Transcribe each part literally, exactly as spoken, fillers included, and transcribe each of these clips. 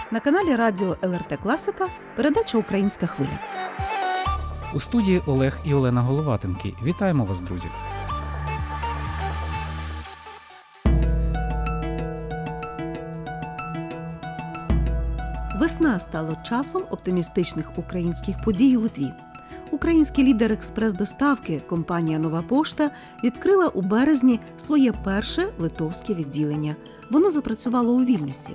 На каналі радіо ел ер те Класика передача «Українська хвиля». У студії Олег і Олена Головатенки. Вітаємо вас, друзі! Весна стала часом оптимістичних українських подій у Литві. Український лідер експрес-доставки компанія «Нова пошта» відкрила у березні своє перше литовське відділення. Воно запрацювало у Вільнюсі.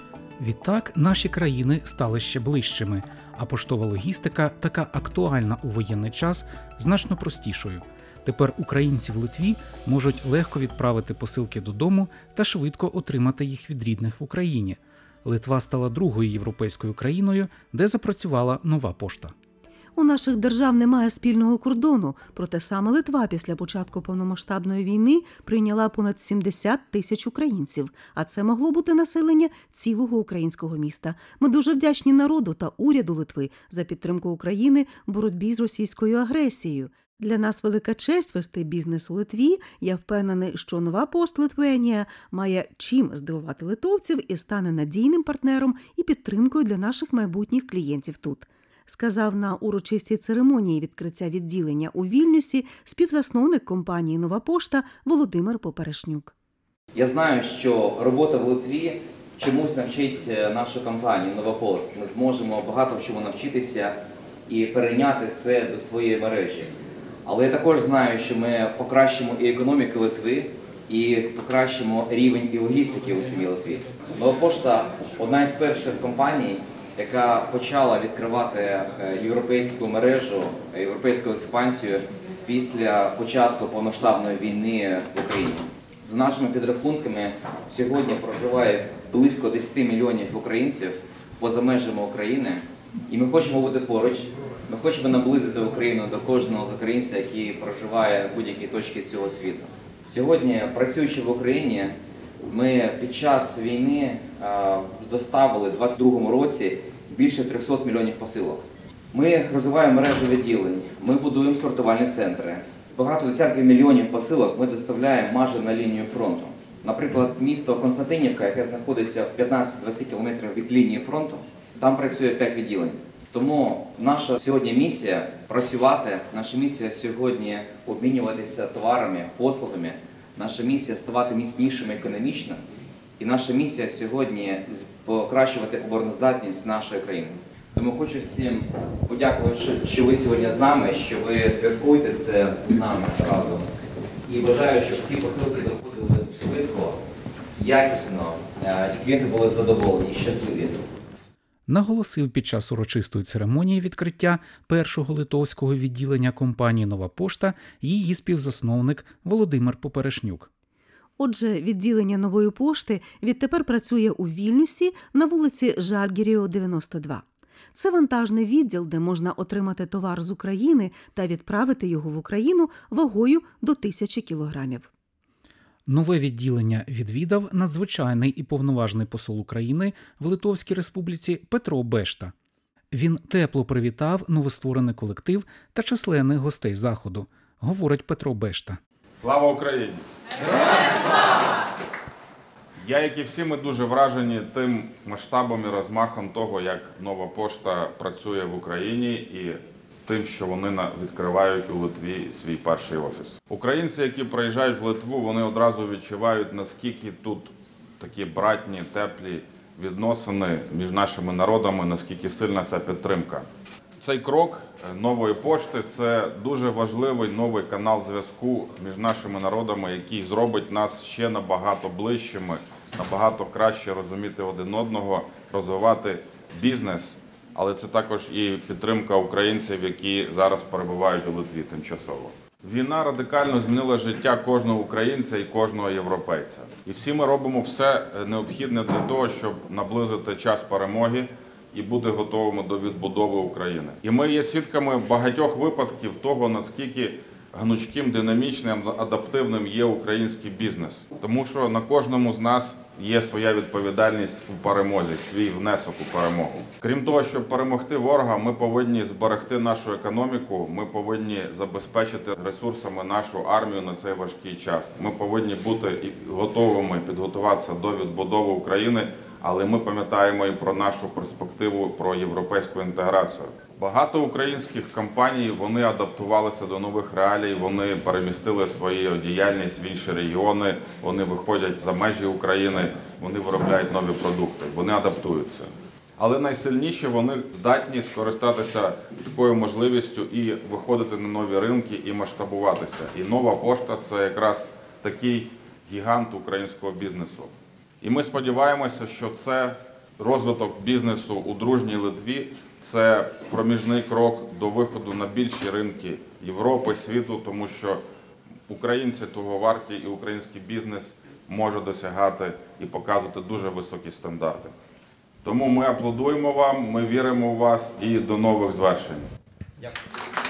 Відтак, наші країни стали ще ближчими, а поштова логістика, така актуальна у воєнний час, значно простішою. Тепер українці в Литві можуть легко відправити посилки додому та швидко отримати їх від рідних в Україні. Литва стала другою європейською країною, де запрацювала «Нова пошта». У наших держав немає спільного кордону, проте саме Литва після початку повномасштабної війни прийняла понад сімдесят тисяч українців, а це могло бути населення цілого українського міста. Ми дуже вдячні народу та уряду Литви за підтримку України в боротьбі з російською агресією. Для нас велика честь вести бізнес у Литві. Я впевнений, що «Нова пошта Литвенія» має чим здивувати литовців і стане надійним партнером і підтримкою для наших майбутніх клієнтів тут. Сказав на урочистій церемонії відкриття відділення у Вільнюсі співзасновник компанії «Нова пошта» Володимир Поперешнюк. Я знаю, що робота в Литві чомусь навчить нашу компанію «Нова пошта». Ми зможемо багато в чому навчитися і перейняти це до своєї мережі. Але я також знаю, що ми покращимо і економіку Литви, і покращимо рівень і логістики у самій Литві. «Нова пошта» – одна із перших компаній, яка почала відкривати європейську мережу, європейську експансію після початку повномасштабної війни в Україні. За нашими підрахунками, сьогодні проживає близько десять мільйонів українців поза межами України, і ми хочемо бути поруч, ми хочемо наблизити Україну до кожного з українців, який проживає в будь-якій точці цього світу. Сьогодні, працюючи в Україні, ми під час війни доставили у двадцять другому році більше трьохсот мільйонів посилок. Ми розвиваємо мережу відділень, ми будуємо сортувальні центри. Багато десятків мільйонів посилок ми доставляємо майже на лінію фронту. Наприклад, місто Константинівка, яке знаходиться в п'ятнадцять-двадцять кілометрів від лінії фронту, там працює п'ять відділень. Тому наша сьогодні місія – працювати, наша місія сьогодні – обмінюватися товарами, послугами, наша місія – ставати міцнішими економічно, і наша місія сьогодні – покращувати обороноздатність нашої країни. Тому хочу всім подякувати, що ви сьогодні з нами, що ви святкуєте це з нами разом. І бажаю, щоб всі посилки доходили швидко, якісно, і клієнти були задоволені і щасливі. Наголосив під час урочистої церемонії відкриття першого литовського відділення компанії «Нова пошта» її співзасновник Володимир Поперешнюк. Отже, відділення «Нової пошти» відтепер працює у Вільнюсі на вулиці Жальгіріо, дев'яносто два. Це вантажний відділ, де можна отримати товар з України та відправити його в Україну вагою до тисячі кілограмів. Нове відділення відвідав надзвичайний і повноважний посол України в Литовській Республіці Петро Бешта. Він тепло привітав новостворений колектив та численних гостей заходу, говорить Петро Бешта. Слава Україні! Героям слава! Я, як і всі, ми дуже вражені тим масштабом і розмахом того, як «Нова пошта» працює в Україні і тим, що вони відкривають у Литві свій перший офіс. Українці, які приїжджають в Литву, вони одразу відчувають, наскільки тут такі братні, теплі відносини між нашими народами, наскільки сильна ця підтримка. Цей крок «Нової пошти» – це дуже важливий новий канал зв'язку між нашими народами, який зробить нас ще набагато ближчими, набагато краще розуміти один одного, розвивати бізнес. Але це також і підтримка українців, які зараз перебувають у Литві тимчасово. Війна радикально змінила життя кожного українця і кожного європейця. І всі ми робимо все необхідне для того, щоб наблизити час перемоги і бути готовими до відбудови України. І ми є свідками багатьох випадків того, наскільки гнучким, динамічним, адаптивним є український бізнес. Тому що на кожному з нас є своя відповідальність у перемозі, свій внесок у перемогу. Крім того, щоб перемогти ворога, ми повинні зберегти нашу економіку, ми повинні забезпечити ресурсами нашу армію на цей важкий час. Ми повинні бути готовими підготуватися до відбудови України, але ми пам'ятаємо і про нашу перспективу, про європейську інтеграцію. Багато українських компаній, вони адаптувалися до нових реалій, вони перемістили свою діяльність в інші регіони, вони виходять за межі України, вони виробляють нові продукти, вони адаптуються. Але найсильніші вони здатні скористатися такою можливістю і виходити на нові ринки і масштабуватися. І Нова пошта – це якраз такий гігант українського бізнесу. І ми сподіваємося, що це розвиток бізнесу у дружній Литві, це проміжний крок до виходу на більші ринки Європи, світу, тому що українці того варті і український бізнес може досягати і показувати дуже високі стандарти. Тому ми аплодуємо вам, ми віримо в вас і до нових звершень. Дякую.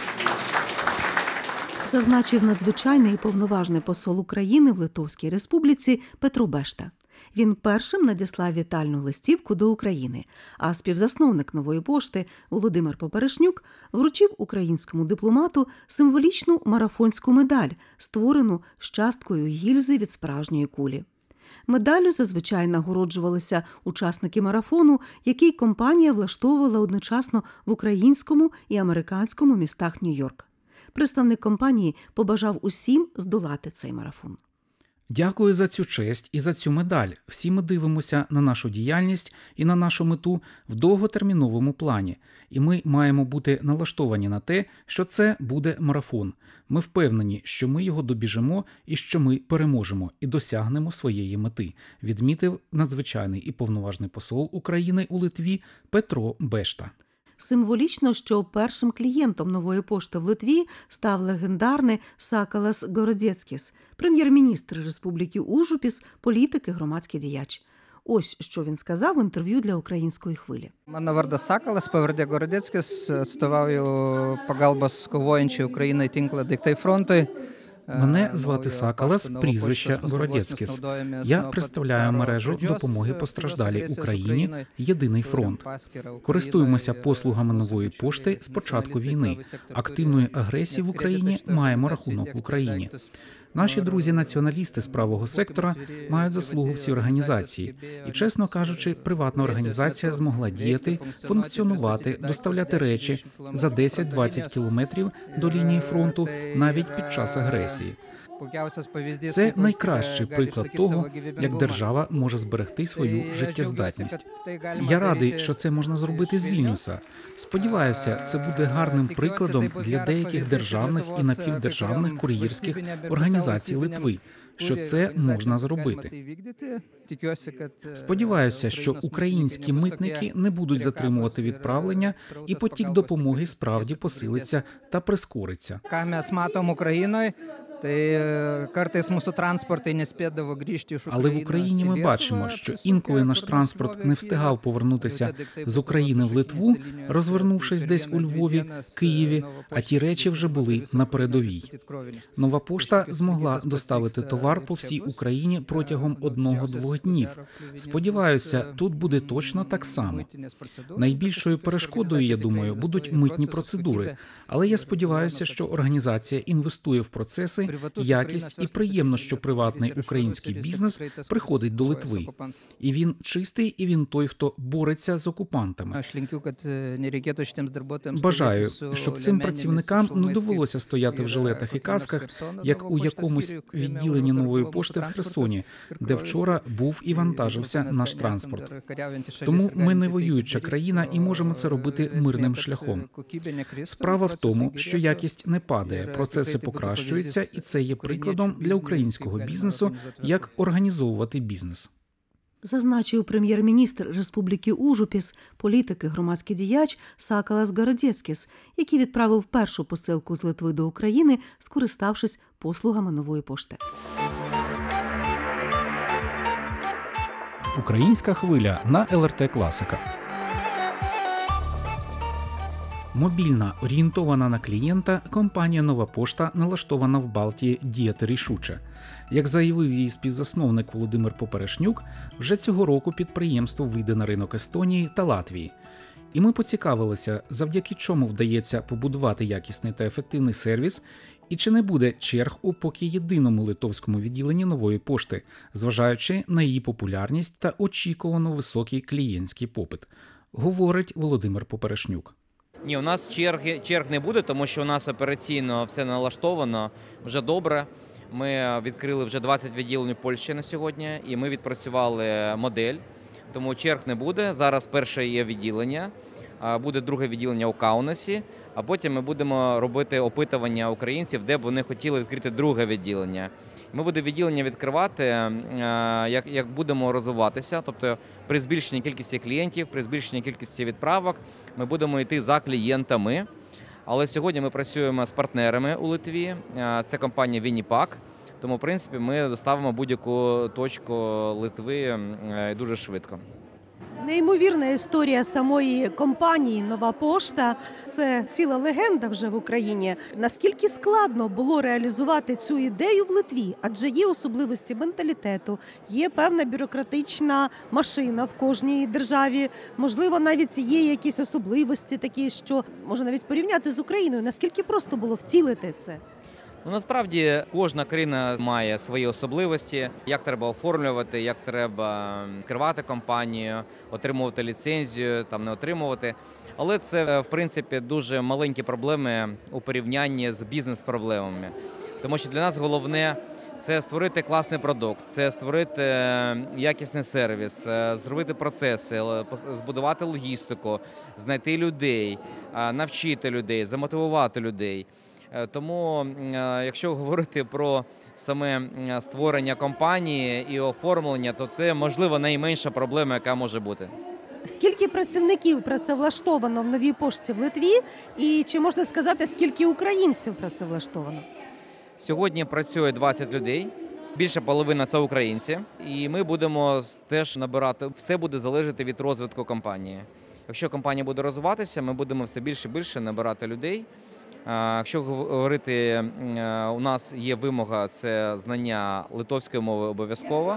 Зазначив надзвичайний і повноважний посол України в Литовській Республіці Петро Бешта. Він першим надіслав вітальну листівку до України, а співзасновник «Нової пошти» Володимир Поперешнюк вручив українському дипломату символічну марафонську медаль, створену з часткою гільзи від справжньої кулі. Медаллю зазвичай нагороджувалися учасники марафону, який компанія влаштовувала одночасно в українському і американському містах Нью-Йорк. Представник компанії побажав усім здолати цей марафон. Дякую за цю честь і за цю медаль. Всі ми дивимося на нашу діяльність і на нашу мету в довготерміновому плані. І ми маємо бути налаштовані на те, що це буде марафон. Ми впевнені, що ми його добіжимо і що ми переможемо і досягнемо своєї мети, відмітив надзвичайний і повноважний посол України у Литві Петро Бешта. Символічно, що першим клієнтом «Нової пошти» в Литві став легендарний Сакалас Городецькіс, прем'єр-міністр Республіки Ужупіс, політик і громадський діяч. Ось, що він сказав в інтерв'ю для «Української хвилі». Mano vardas Sakalas, pavardė Gorodeckis, atstovauju pagalbos kovojančiai Ukrainai tinklą Daiktai frontui. Мене звати Сакалас, прізвище Городецькіс. Я представляю мережу допомоги постраждалій Україні «Єдиний фронт». Користуємося послугами Нової пошти з початку війни. Активної агресії в Україні маємо рахунок в Україні. Наші друзі-націоналісти з правого сектора мають заслугу в цій організації. І, чесно кажучи, приватна організація змогла діяти, функціонувати, доставляти речі за десять-двадцять кілометрів до лінії фронту навіть під час агресії. Це найкращий приклад того, як держава може зберегти свою життєздатність. Я радий, що це можна зробити з Вільнюса. Сподіваюся, це буде гарним прикладом для деяких державних і напівдержавних кур'єрських організацій Литви, що це можна зробити. Сподіваюся, що українські митники не будуть затримувати відправлення і потік допомоги справді посилиться та прискориться. Але в Україні ми бачимо, що інколи наш транспорт не встигав повернутися з України в Литву, розвернувшись десь у Львові, Києві, а ті речі вже були на передовій. Нова пошта змогла доставити товар по всій Україні протягом одного-двох днів. Сподіваюся, тут буде точно так само. Найбільшою перешкодою, я думаю, будуть митні процедури, але я сподіваюся, що організація інвестує в процеси, якість і приємно, що приватний український бізнес приходить до Литви. І він чистий, і він той, хто бореться з окупантами. Бажаю, щоб цим працівникам не довелося стояти в жилетах і касках, як у якомусь відділенні Нової пошти в Херсоні, де вчора був і вантажився наш транспорт. Тому ми не воююча країна і можемо це робити мирним шляхом. Справа в тому, що якість не падає, процеси покращуються, і це є прикладом для українського бізнесу, як організовувати бізнес. Зазначив прем'єр-міністр Республіки Ужупіс, політик і громадський діяч Сакалас Городецькіс, який відправив першу посилку з Литви до України, скориставшись послугами Нової пошти. Українська хвиля на ел ер те Класика. Мобільна, орієнтована на клієнта, компанія «Нова пошта» налаштована в Балтії діяти рішуче. Як заявив її співзасновник Володимир Поперешнюк, вже цього року підприємство вийде на ринок Естонії та Латвії. І ми поцікавилися, завдяки чому вдається побудувати якісний та ефективний сервіс, І чи не буде черг у поки єдиному литовському відділенні Нової пошти, зважаючи на її популярність та очікувано високий клієнтський попит, говорить Володимир Поперешнюк. Ні, у нас черги, черг не буде, тому що у нас операційно все налаштовано вже добре. Ми відкрили вже двадцять відділень у Польщі на сьогодні, і ми відпрацювали модель, тому черг не буде. Зараз перше є відділення, буде друге відділення у Каунасі, а потім ми будемо робити опитування українців, де б вони хотіли відкрити друге відділення. Ми будемо відділення відкривати, як, як будемо розвиватися, тобто при збільшенні кількості клієнтів, при збільшенні кількості відправок ми будемо йти за клієнтами. Але сьогодні ми працюємо з партнерами у Литві, це компанія Вінніпак, тому в принципі ми доставимо будь-яку точку Литви дуже швидко. Неймовірна історія самої компанії «Нова пошта» – це ціла легенда вже в Україні. Наскільки складно було реалізувати цю ідею в Литві? Адже є особливості менталітету, є певна бюрократична машина в кожній державі. Можливо, навіть є якісь особливості такі, що можна навіть порівняти з Україною. Наскільки просто було втілити це? Ну, насправді кожна країна має свої особливості, як треба оформлювати, як треба відкривати компанію, отримувати ліцензію, там не отримувати. Але це, в принципі, дуже маленькі проблеми у порівнянні з бізнес-проблемами. Тому що для нас головне – це створити класний продукт, це створити якісний сервіс, зробити процеси, збудувати логістику, знайти людей, навчити людей, замотивувати людей. Тому, якщо говорити про саме створення компанії і оформлення, то це, можливо, найменша проблема, яка може бути. Скільки працівників працевлаштовано в Новій пошті в Литві і чи можна сказати, скільки українців працевлаштовано? Сьогодні працює двадцять людей, більше половина – це українці, і ми будемо теж набирати, все буде залежати від розвитку компанії. Якщо компанія буде розвиватися, ми будемо все більше і більше набирати людей. Якщо говорити, у нас є вимога – це знання литовської мови обов'язково.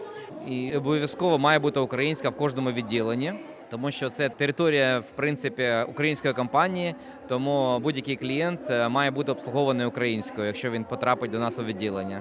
І обов'язково має бути українська в кожному відділенні, тому що це територія, в принципі, української компанії, тому будь-який клієнт має бути обслугований українською, якщо він потрапить до нас у відділення.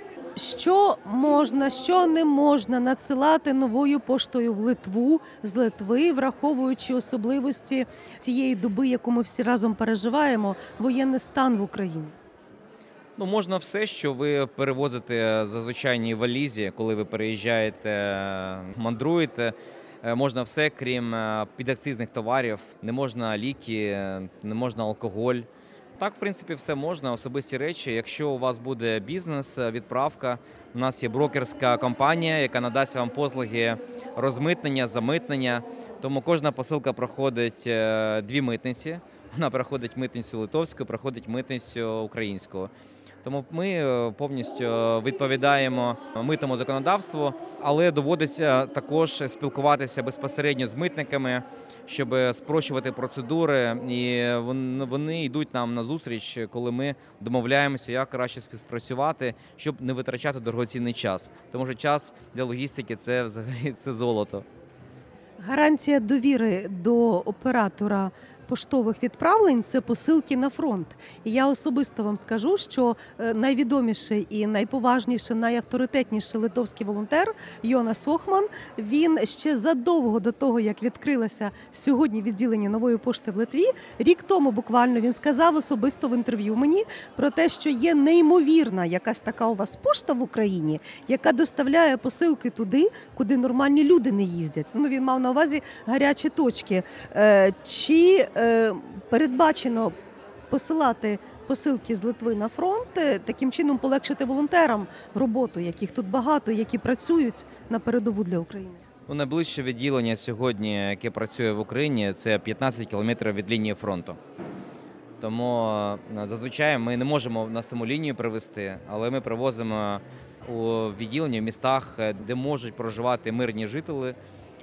Що можна, що не можна надсилати новою поштою в Литву, з Литви, враховуючи особливості цієї доби, яку ми всі разом переживаємо, воєнний стан в Україні? Ну, можна все, що ви перевозите за звичайній валізі, коли ви переїжджаєте, мандруєте. Можна все, крім підакцизних товарів. Не можна ліки, не можна алкоголь. Так, в принципі, все можна, особисті речі. Якщо у вас буде бізнес, відправка, у нас є брокерська компанія, яка надасть вам послуги розмитнення, замитнення. Тому кожна посилка проходить дві митниці. Вона проходить митницю литовську, проходить митницю українську. Тому ми повністю відповідаємо митному законодавству, але доводиться також спілкуватися безпосередньо з митниками, щоб спрощувати процедури, і вони йдуть нам на зустріч, коли ми домовляємося, як краще співпрацювати, щоб не витрачати дорогоцінний час. Тому що час для логістики – це взагалі це золото. Гарантія довіри до оператора поштових відправлень – це посилки на фронт. І я особисто вам скажу, що найвідоміший і найповажніший, найавторитетніший литовський волонтер Йонас Охман, він ще задовго до того, як відкрилося сьогодні відділення Нової пошти в Литві, рік тому буквально він сказав особисто в інтерв'ю мені про те, що є неймовірна якась така у вас пошта в Україні, яка доставляє посилки туди, куди нормальні люди не їздять. Ну, він мав на увазі гарячі точки. Чи передбачено посилати посилки з Литви на фронт, таким чином полегшити волонтерам роботу, яких тут багато, які працюють на передову для України? Ну, найближче відділення сьогодні, яке працює в Україні, це п'ятнадцять кілометрів від лінії фронту. Тому зазвичай ми не можемо на саму лінію привезти, але ми привозимо у відділення в містах, де можуть проживати мирні жителі.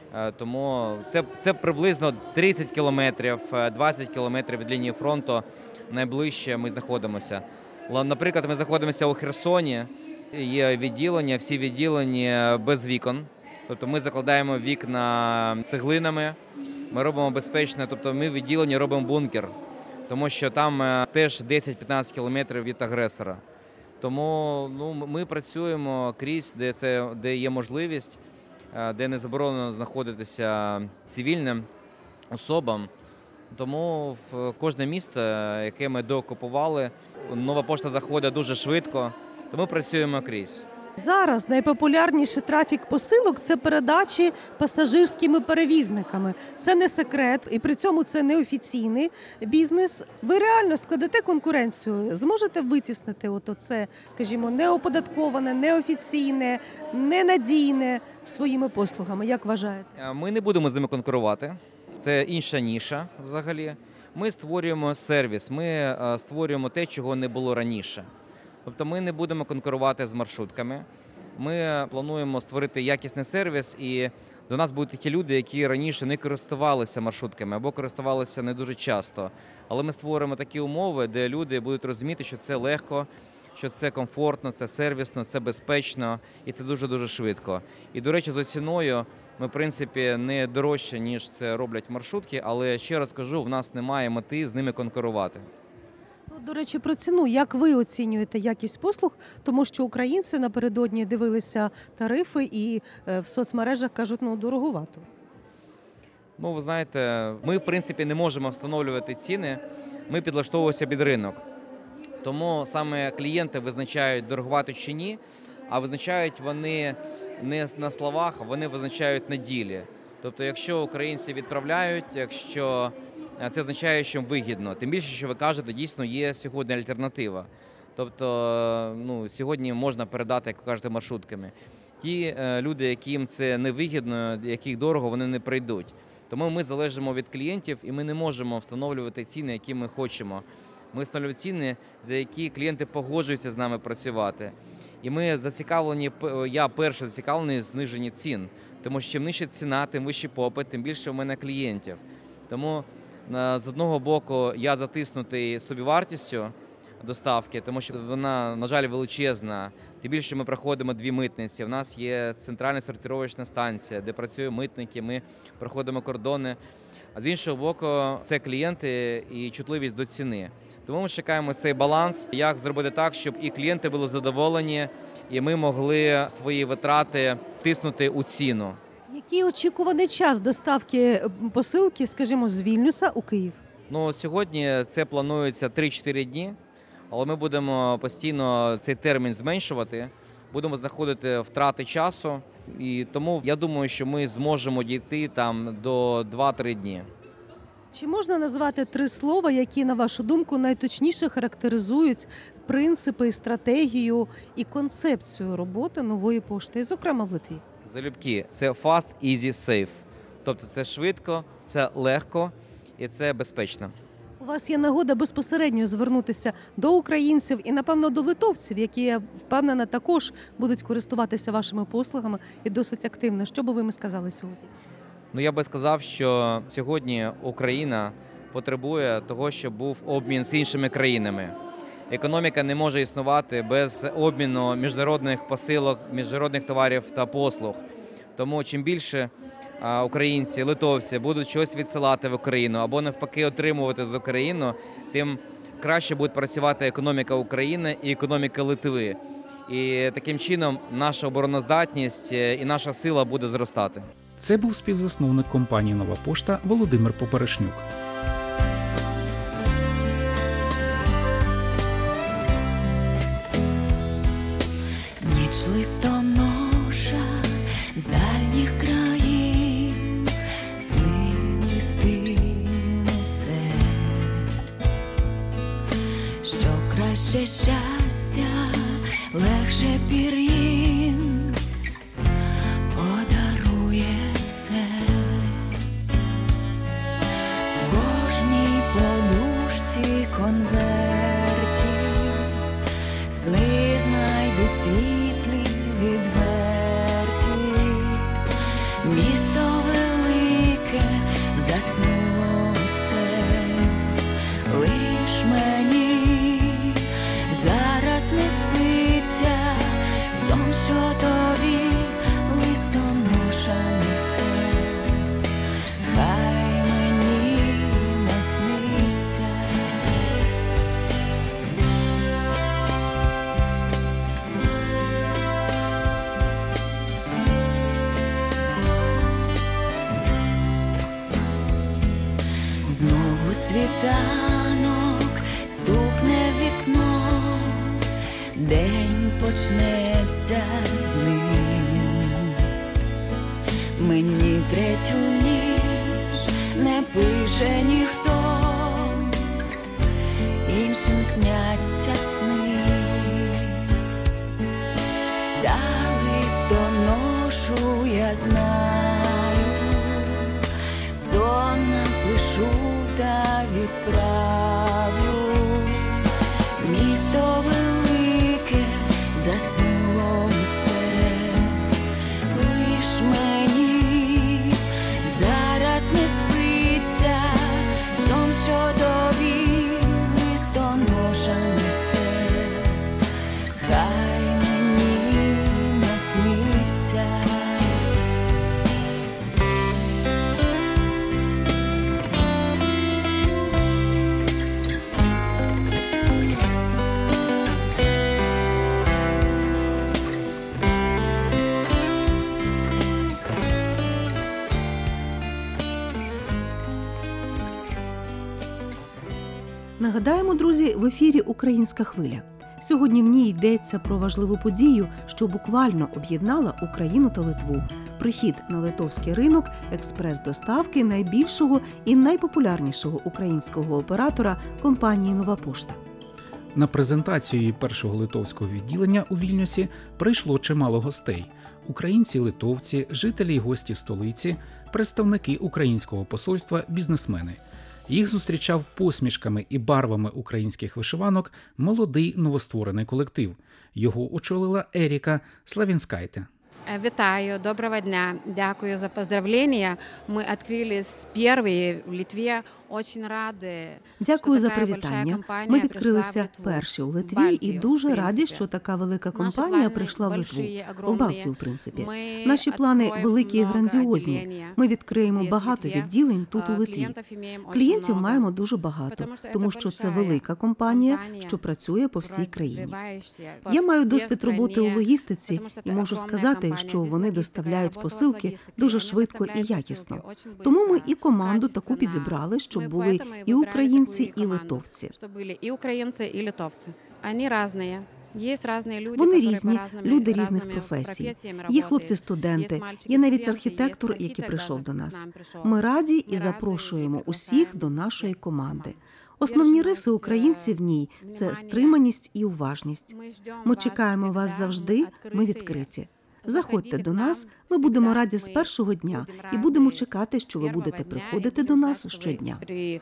Тому це, це приблизно тридцять кілометрів, двадцять кілометрів від лінії фронту найближче ми знаходимося. Наприклад, ми знаходимося у Херсоні, є відділення, всі відділення без вікон. Тобто ми закладаємо вікна цеглинами, ми робимо безпечно, тобто ми в відділенні робимо бункер. тому що там е, теж десять-п'ятнадцять кілометрів від агресора. Тому ну, ми працюємо крізь, де, це, де є можливість, е, де не заборонено знаходитися цивільним особам. Тому в кожне місто, яке ми доокупували, нова пошта заходить дуже швидко, тому працюємо крізь. Зараз найпопулярніший трафік посилок – це передачі пасажирськими перевізниками. Це не секрет, і при цьому це неофіційний бізнес. Ви реально складете конкуренцію? Зможете витіснити от оце, скажімо, неоподатковане, неофіційне, ненадійне своїми послугами? Як вважаєте? Ми не будемо з ними конкурувати. Це інша ніша взагалі. Ми створюємо сервіс, ми створюємо те, чого не було раніше. Тобто ми не будемо конкурувати з маршрутками. Ми плануємо створити якісний сервіс, і до нас будуть ті люди, які раніше не користувалися маршрутками або користувалися не дуже часто. Але ми створимо такі умови, де люди будуть розуміти, що це легко, що це комфортно, це сервісно, це безпечно і це дуже-дуже швидко. І, до речі, за ціною ми, в принципі, не дорожче, ніж це роблять маршрутки, але, ще раз кажу, в нас немає мети з ними конкурувати. До речі, про ціну. Як ви оцінюєте якість послуг? Тому що українці напередодні дивилися тарифи і в соцмережах кажуть, ну, дороговато. Ну, ви знаєте, ми, в принципі, не можемо встановлювати ціни, ми підлаштовуємося під ринок. Тому саме клієнти визначають, дороговато чи ні, а визначають вони не на словах, вони визначають на ділі. Тобто, якщо українці відправляють, якщо це означає, що вигідно. Тим більше, що ви кажете, дійсно є сьогодні альтернатива. Тобто, ну, сьогодні можна передати, як ви кажете, маршрутками. Ті е, люди, яким це не вигідно, яких дорого, вони не прийдуть. Тому ми залежимо від клієнтів і ми не можемо встановлювати ціни, які ми хочемо. Ми встановлюємо ціни, за які клієнти погоджуються з нами працювати. І ми зацікавлені, я перший зацікавлений в зниженні цін. Тому що чим нижча ціна, тим вищий попит, тим більше в мене клієнтів. Тому з одного боку я затиснутий собівартістю доставки, тому що вона, на жаль, величезна. Тим більше ми проходимо дві митниці. У нас є центральна сортировочна станція, де працюють митники, ми проходимо кордони. А з іншого боку, це клієнти і чутливість до ціни. Тому ми чекаємо цей баланс, як зробити так, щоб і клієнти були задоволені, і ми могли свої витрати тиснути у ціну. Який очікуваний час доставки посилки, скажімо, з Вільнюса у Київ? Ну, сьогодні це планується три-чотири дні, але ми будемо постійно цей термін зменшувати, будемо знаходити втрати часу, і тому я думаю, що ми зможемо дійти там до два-три дні. Чи можна назвати три слова, які, на вашу думку, найточніше характеризують принципи, стратегію і концепцію роботи нової пошти, зокрема в Литві? Залюбки, це fast, easy, safe. Тобто це швидко, це легко і це безпечно. У вас є нагода безпосередньо звернутися до українців і, напевно, до литовців, які, я впевнена, також будуть користуватися вашими послугами і досить активно. Що би ви їм сказали сьогодні? Ну, я би сказав, що сьогодні Україна потребує того, щоб був обмін з іншими країнами. Економіка не може існувати без обміну міжнародних посилок, міжнародних товарів та послуг. Тому чим більше українці, литовці будуть щось відсилати в Україну або навпаки отримувати з України, тим краще буде працювати економіка України і економіка Литви. І таким чином наша обороноздатність і наша сила буде зростати. Це був співзасновник компанії «Нова пошта» Володимир Поперешнюк. Ніч листоноша з дальніх країн сни листи несе, що краще щастя, легше пір'їн подарує все. В кожній подушці конверті сни знайдуть світлі відверті. Місто велике заснуло все, лиш мені зараз не спиться сон, що тобі листоноша несе. Хай мені насниться. у світанок стукне в вікно, день почнеться з ним. Мені третю ніч не пише ніхто, іншим сняться сни. Та листоношу я знаю, сон напишу та відправлю. Місто велике заснуло все, лиш мені зараз не спиться, сон, що тобі листоноша несе, хай мені насниться. Нагадаємо, друзі, в ефірі «Українська хвиля». Сьогодні в ній йдеться про важливу подію, що буквально об'єднала Україну та Литву. Прихід на литовський ринок експрес-доставки найбільшого і найпопулярнішого українського оператора компанії «Нова пошта». На презентацію її першого литовського відділення у Вільнюсі прийшло чимало гостей – українці, литовці, жителі й гості столиці, представники українського посольства, бізнесмени. Їх зустрічав посмішками і барвами українських вишиванок молодий новостворений колектив. Його очолила Еріка Славінскайте. Вітаю, доброго дня. Дякую за поздравлення. Ми відкрили перші в Литві. Очень раді. Дякую за привітання. Ми відкрилися перші у Литві і дуже раді, що така велика компанія прийшла в Литву. В Балтію, в принципі. Наші плани великі і грандіозні. Ми відкриємо багато відділень тут у Литві. Клієнтів маємо дуже багато, тому що це велика компанія, що працює по всій країні. Я маю досвід роботи у логістиці і можу сказати, що вони доставляють посилки дуже швидко і якісно. Тому ми і команду таку підібрали, щоб були і українці, і литовці. І українці, і литовці. Вони різні. Вони різні, люди різних професій. Є хлопці-студенти, є навіть архітектор, який прийшов до нас. Ми раді і запрошуємо усіх до нашої команди. Основні риси українців в ній – це стриманість і уважність. Ми чекаємо вас завжди, ми відкриті. Заходьте до нас, ми будемо раді з першого дня і будемо чекати, що ви будете приходити до нас щодня.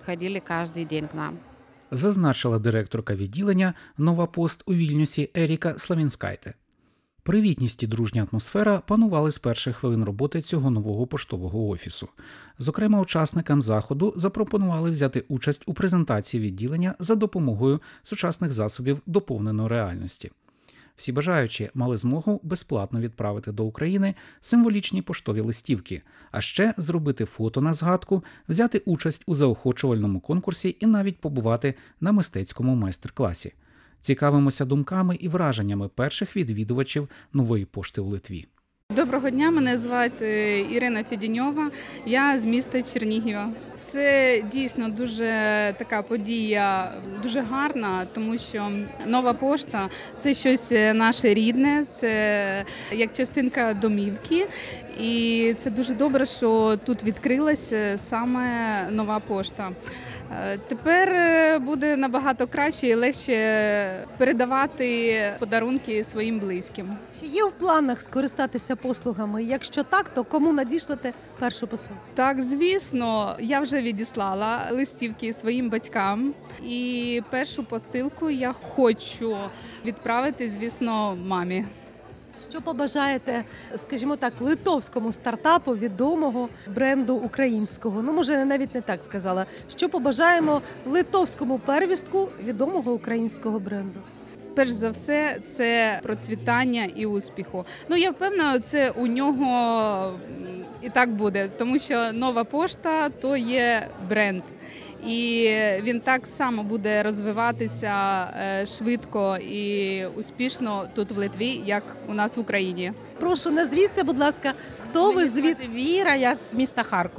Зазначила директорка відділення «Нова пост» у Вільнюсі Еріка Славінскайте. Привітність і дружня атмосфера панували з перших хвилин роботи цього нового поштового офісу. Зокрема, учасникам заходу запропонували взяти участь у презентації відділення за допомогою сучасних засобів доповненої реальності. Всі бажаючі мали змогу безплатно відправити до України символічні поштові листівки, а ще зробити фото на згадку, взяти участь у заохочувальному конкурсі і навіть побувати на мистецькому майстер-класі. Цікавимося думками і враженнями перших відвідувачів нової пошти у Литві. Доброго дня, мене звати Ірина Федіньова, я з міста Чернігова. Це дійсно дуже така подія, дуже гарна, тому що Нова пошта – це щось наше рідне, це як частинка домівки. І це дуже добре, що тут відкрилася саме Нова пошта. Тепер буде набагато краще і легше передавати подарунки своїм близьким. Чи є в планах скористатися послугами? Якщо так, то кому надішлете першу посилку? Так, звісно, я вже відіслала листівки своїм батькам. І першу посилку я хочу відправити, звісно, мамі. Що побажаєте, скажімо так, литовському стартапу відомого бренду українського? Ну, може, навіть не так сказала. Що побажаємо литовському первістку відомого українського бренду? Перш за все, це процвітання і успіху. Ну, я впевнена, це у нього і так буде, тому що Нова пошта – то є бренд. І він так само буде розвиватися швидко і успішно тут в Литві, як у нас в Україні. Прошу, назвіться, будь ласка, хто ви звідки? Віра, я з міста Харкова.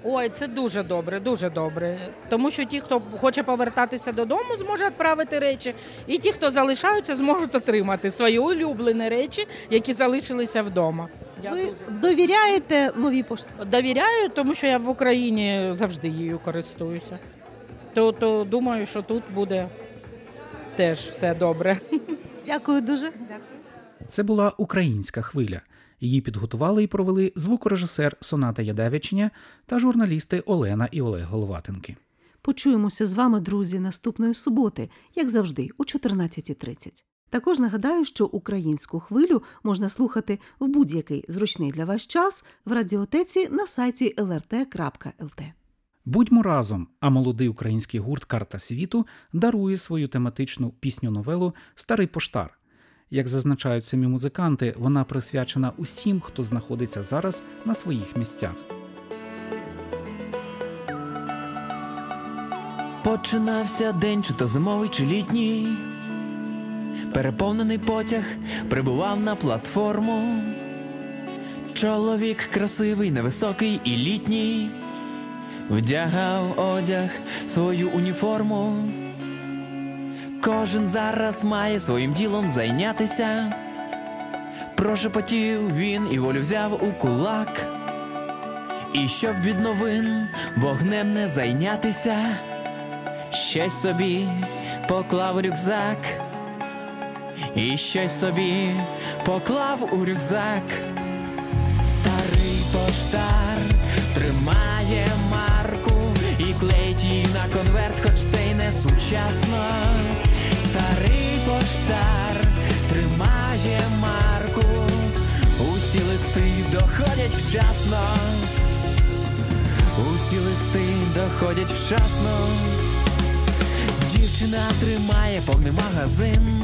Ой, це дуже добре, дуже добре. Тому що ті, хто хоче повертатися додому, зможе відправити речі, і ті, хто залишаються, зможуть отримати свої улюблені речі, які залишилися вдома. Я Ви дуже довіряєте новій пошті? довіряю, тому що я в Україні завжди її користуюся. То, то думаю, що тут буде теж все добре. Дякую дуже. Дякую. Це була «Українська хвиля». Її підготували і провели звукорежисер Соната Ядевичня та журналісти Олена і Олег Головатенки. Почуємося з вами, друзі, наступної суботи, як завжди, о чотирнадцята тридцять. Також нагадаю, що «Українську хвилю» можна слухати в будь-який зручний для вас час в радіотеці на сайті ел ер те крапка ел те. Будьмо разом, а молодий український гурт «Карта світу» дарує свою тематичну пісню-новелу «Старий поштар». Як зазначають самі музиканти, вона присвячена усім, хто знаходиться зараз на своїх місцях. Починався день, чи то зимовий, чи літній. Переповнений потяг прибував на платформу. Чоловік красивий, невисокий і літній, вдягав одяг, свою уніформу. Кожен зараз має своїм ділом зайнятися. Прошепотів він і волю взяв у кулак. І щоб від новин вогнем не зайнятися, щось собі поклав у рюкзак. І щось собі поклав у рюкзак. Старий поштар тримає марку і клеїть її на конверт, хоч це й не сучасно. Старий поштар тримає марку, усі листи доходять вчасно. Усі листи доходять вчасно. Дівчина тримає повний магазин.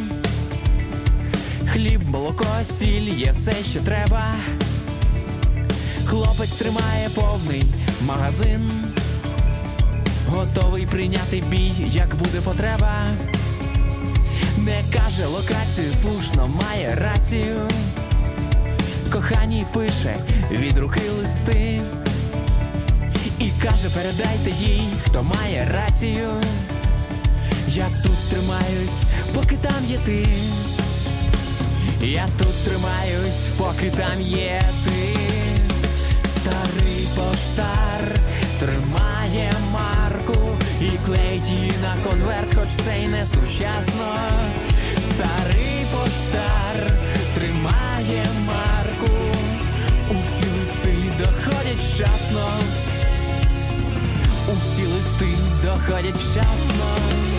Хліб, молоко, сіль, є все, що треба. Хлопець тримає повний магазин, готовий прийняти бій, як буде потреба. Не каже локацію, слушно має рацію. Коханій пише від руки листи і каже, передайте їй, хто має рацію. Я тут тримаюсь, поки там є ти. Я тут тримаюсь, поки там є ти. Старий поштар тримає марку і клеїть її на конверт, хоч це й не сучасно. Старий поштар тримає марку, усі листи доходять вчасно. Усі листи доходять вчасно.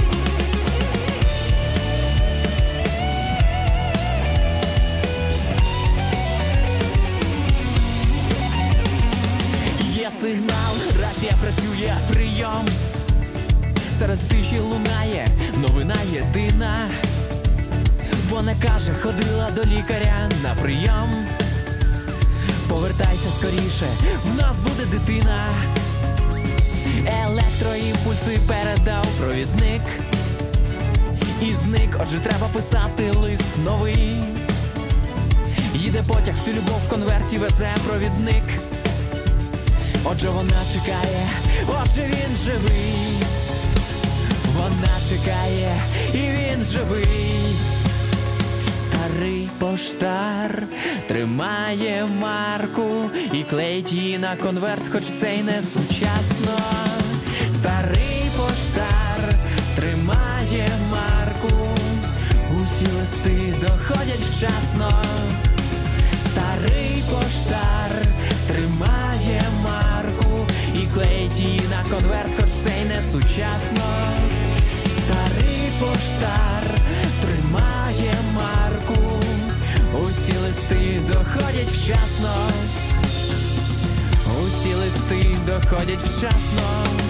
Є сигнал, рація працює, прийом. Серед тиші лунає новина єдина. Вона каже, ходила до лікаря на прийом. Повертайся скоріше, в нас буде дитина. Електроімпульси передав провідник і зник, отже треба писати лист новий. Їде потяг, всю любов в конверті везе провідник. Отже вона чекає, отже він живий. Вона чекає, і він живий. Старий поштар тримає марку і клеїть її на конверт, хоч це й не сучасно. Старий поштар тримає марку, усі листи доходять вчасно. Старий поштар тримає марку і клеїть її на конверт, хоч це й не сучасно. Старий поштар тримає марку, усі листи доходять вчасно. Усі листи доходять вчасно.